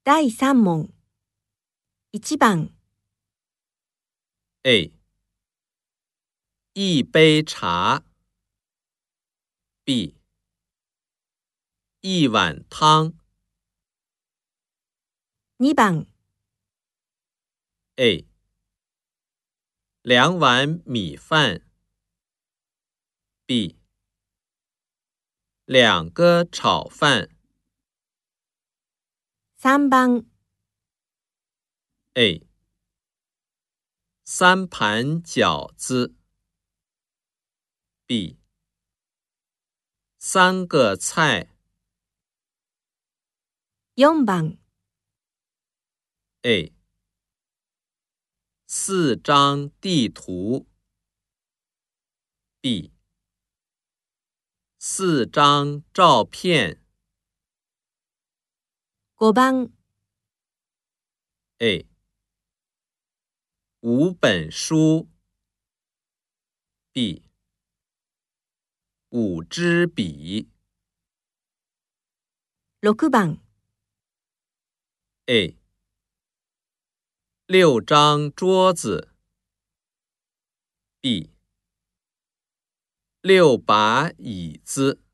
第3問。1番。 A. 一杯茶 B. 一碗汤 2番。 A. 2碗米饭 B. 2个炒饭 3番。 A. 3盘饺子 B. 3个菜 4番。 A. 4张地图 B. 4张照片 5番。 A. 5本书 B. 5支笔 6番。 A. 6张桌子 B. 6把椅子